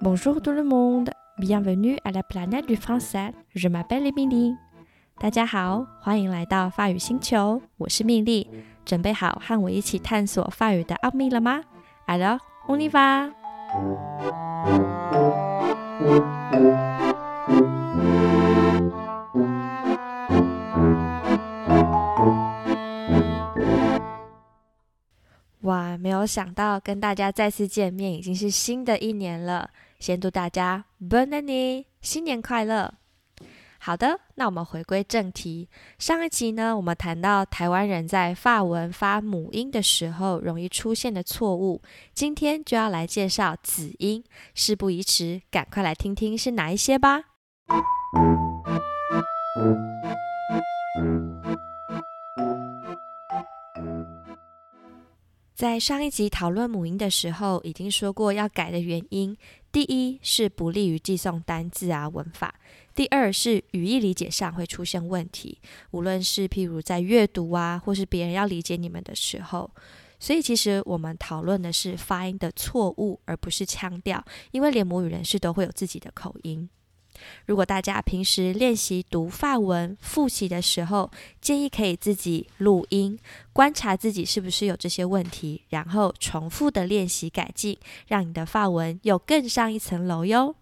Bonjour tout le monde, bienvenue à la planète du français. Je m'appelle Émilie. 大家好，欢迎来到法语星球，我是蜜莉。准备好和我一起探索法语的奥秘了吗？ Alors, on y va! 哇，没有想到跟大家再次见面，已经是新的一年了。先祝大家 Bonne année， 新年快乐！好的，那我们回归正题。上一集呢，我们谈到台湾人在法文发母音的时候容易出现的错误。今天就要来介绍子音，事不宜迟，赶快来听听是哪一些吧。在上一集讨论母音的时候，已经说过要改的原因。第一是不利于记诵单字啊文法，第二是语义理解上会出现问题，无论是譬如在阅读啊，或是别人要理解你们的时候。所以其实我们讨论的是发音的错误，而不是腔调，因为连母语人士都会有自己的口音。如果大家平时练习读法文复习的时候，建议可以自己录音，观察自己是不是有这些问题，然后重复的练习改进，让你的法文又更上一层楼哟。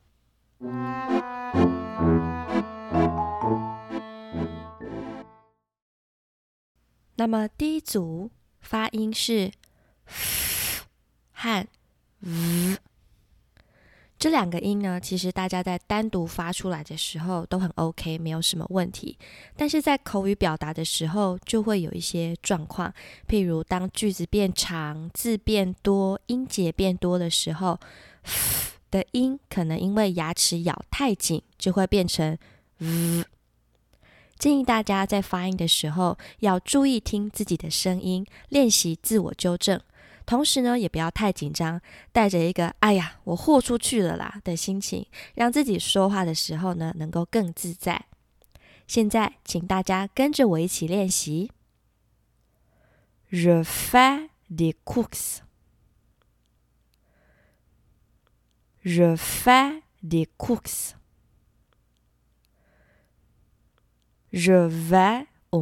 那么第一组发音是 f 和 v，这两个音呢，其实大家在单独发出来的时候都很 OK， 没有什么问题。但是在口语表达的时候，就会有一些状况，譬如当句子变长、字变多、音节变多的时候 ，f 的音可能因为牙齿咬太紧，就会变成 v。建议大家在发音的时候，要注意听自己的声音，练习自我纠正。同时呢，也不要太紧张，带着一个哎呀我豁出去了啦的心情，让自己说话的时候呢能够更自在。现在请大家跟着我一起练习。 Je fais des courses. Je fais des courses. Je vais au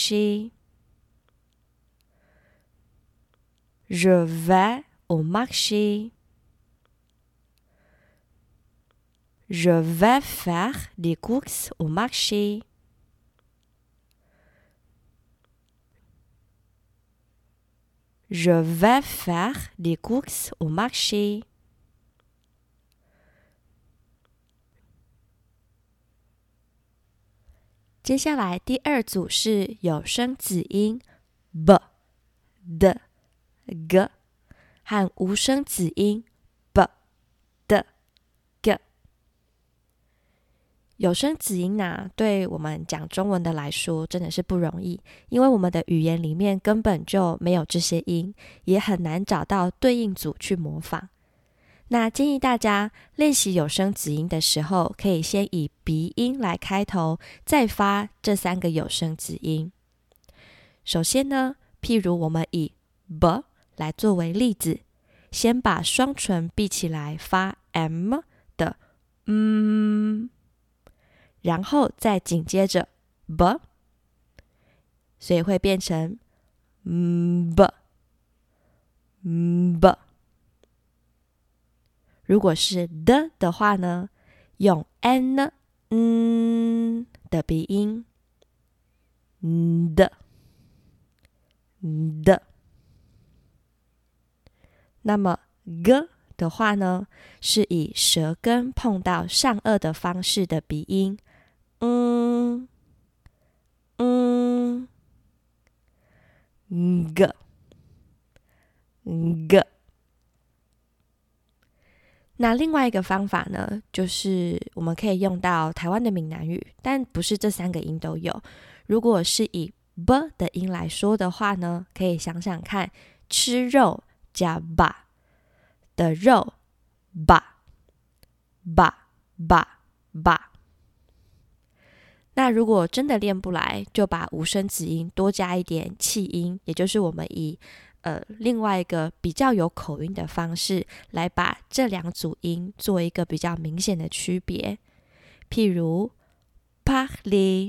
marché.Je vais au marché. Je vais faire des courses au marché. Je vais faire des courses au marché. 接下来第二组是有声子音 b、d、g 和无声子音 b、d、g。 有声子音啊，对我们讲中文的来说真的是不容易，因为我们的语言里面根本就没有这些音，也很难找到对应组去模仿。那建议大家练习有声子音的时候，可以先以鼻音来开头，再发这三个有声子音。首先呢，譬如我们以 b 来作为例子，先把双唇闭起来发 m 的然后再紧接着 b， 所以会变成 b。 如果是 的话呢，用 n 的鼻音的。那么 g 的话呢，是以舌根碰到上颚的方式的鼻音g。 那另外一个方法呢，就是我们可以用到台湾的闽南语，但不是这三个音都有。如果是以 b 的音来说的话呢，可以想想看，吃肉加 ba 的肉 ba。 那如果真的练不来，就把无声子音多加一点气音，也就是我们以另外一个比较有口音的方式来把这两组音做一个比较明显的区别。譬如 parler,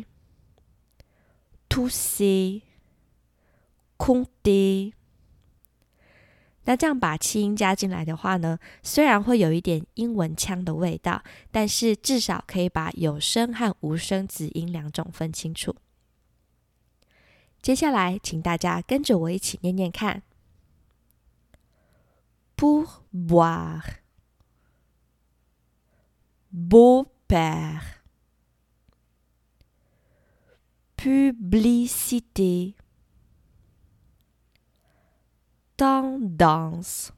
tousser, compter。那这样把气音加进来的话呢，虽然会有一点英文腔的味道，但是至少可以把有声和无声子音两种分清楚。接下来请大家跟着我一起念念看。 Pour boire, beau-père, publicité, tendance,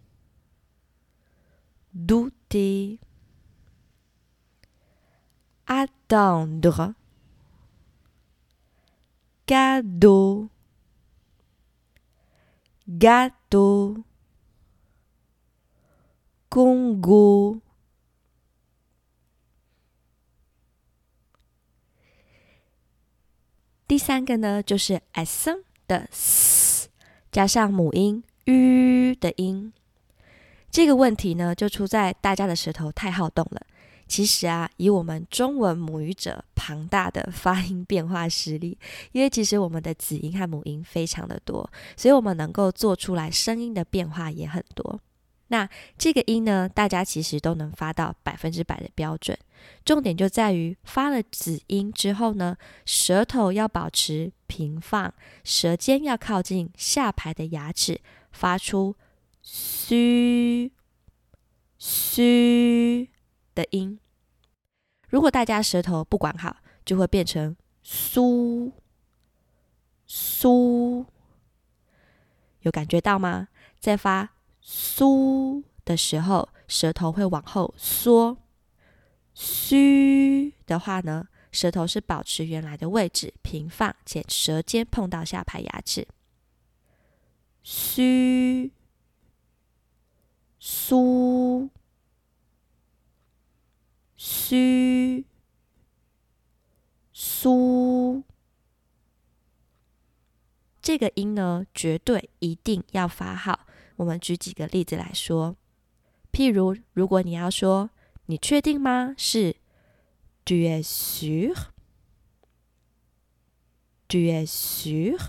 douter, attendre, cadeau, gâteau, Congo。 第三个呢，就是 accent 的 s 加上母音 u 的音。这个问题呢，就出在大家的舌头太好动了。其实啊，以我们中文母语者庞大的发音变化实力，因为其实我们的子音和母音非常的多，所以我们能够做出来声音的变化也很多。那这个音呢，大家其实都能发到100%的标准，重点就在于发了子音之后呢，舌头要保持平放，舌尖要靠近下排的牙齿，发出嘘嘘的音。如果大家舌头不管好，就会变成苏苏，有感觉到吗？在发苏的时候，舌头会往后缩。嘘的话呢，舌头是保持原来的位置，平放，且舌尖碰到下排牙齿。嘘苏嘘苏，这个音呢，绝对一定要发好。我们举几个例子来说，譬如如果你要说你确定吗？是 Tu es sûr? Tu es sûr?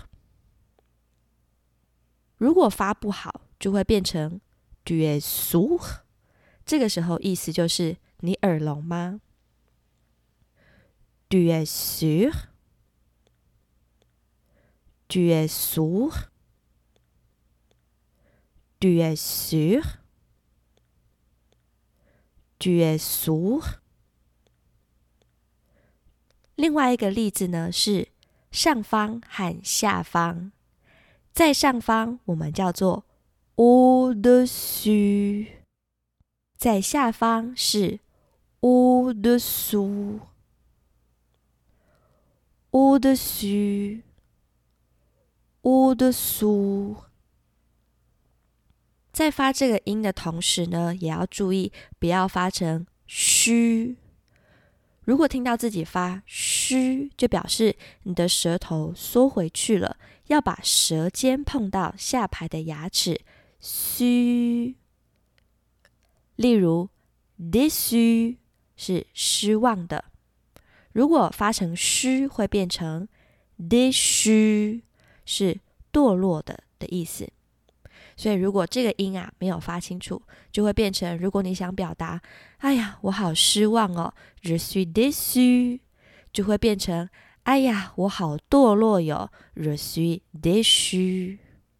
如果发不好，就会变成 Tu es sourd? 这个时候意思就是你耳聋吗？ Tu es sûr? Tu es sourd? Tu es sûr? Tu es sourd? 另外一个例子呢，是上方和下方。在上方我们叫做 au-dessus， 在下方是 au-dessous， au-dessus， au-dessous。 在发这个音的同时呢，也要注意不要发成虚。如果听到自己发虚，就表示你的舌头缩回去了，要把舌尖碰到下排的牙齿，虚。例如 déçu 是失望的，如果发成虚会变成 déchu， 是堕落的意思。所以如果这个音啊没有发清楚，就会变成，如果你想表达哎呀我好失望哦 Je suis déçu， 就会变成哎呀我好堕落哟 Je suis déchu。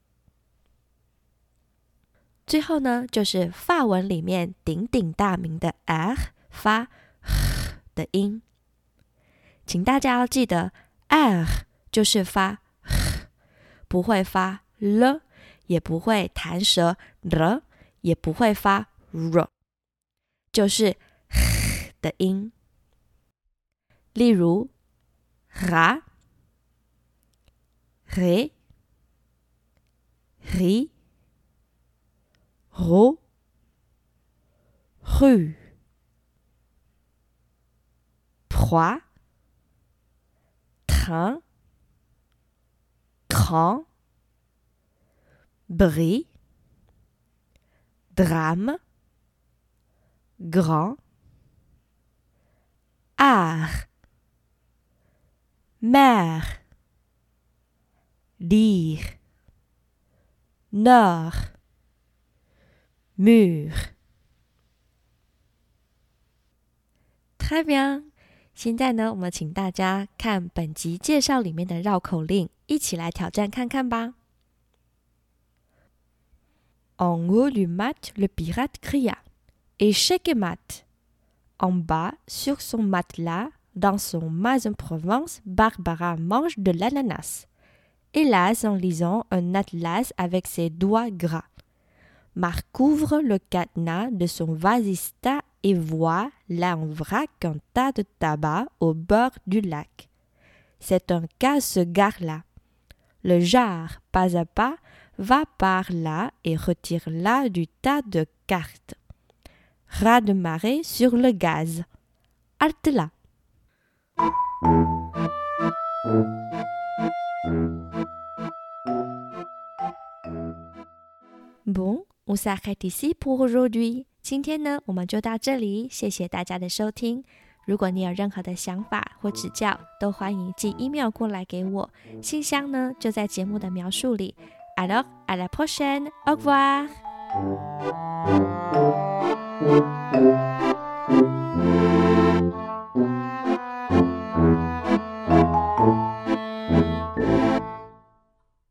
最后呢，就是法文里面鼎鼎大名的 R 发的音，请大家要记得 R 就是发不会发了，也不会弹舌 r， 也不会发 r， 就是的音。例如 ra ré ri ro rue proie train cran bris, drame, grand, art, mer, dire, nord, mur。太bien，现在呢，我们请大家看本集介绍里面的绕口令，一起来挑战看看吧。En haut du mat, le pirate cria « Échec et mat !» En bas, sur son matelas, dans son mas en Provence, Barbara mange de l'ananas. Hélas, en lisant un atlas avec ses doigts gras. Marc ouvre le cadenas de son vasista et voit là en vrac un tas de tabac au bord du lac. C'est un casse-gare là. Le jar, pas à pas, va par là et retire là du tas de cartes. Raz de marée sur le gaz. Halte là. Bon, on s'arrête ici pour aujourd'hui. 今天呢，我们就到这里，谢谢大家的收听。如果你有任何的想法或指教，都欢迎寄 email 过来给我，信箱呢就在节目的描述里。Alors, à la prochaine. Au revoir.